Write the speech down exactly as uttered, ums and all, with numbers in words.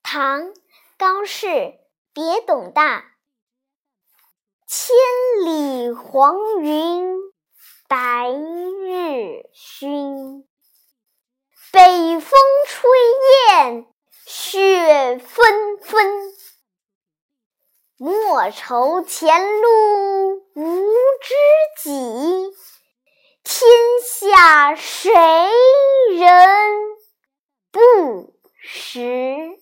唐·高适，别董大。千里黄云白日曛，北风吹雁雪纷纷。莫愁前路无知己，天下谁人不识。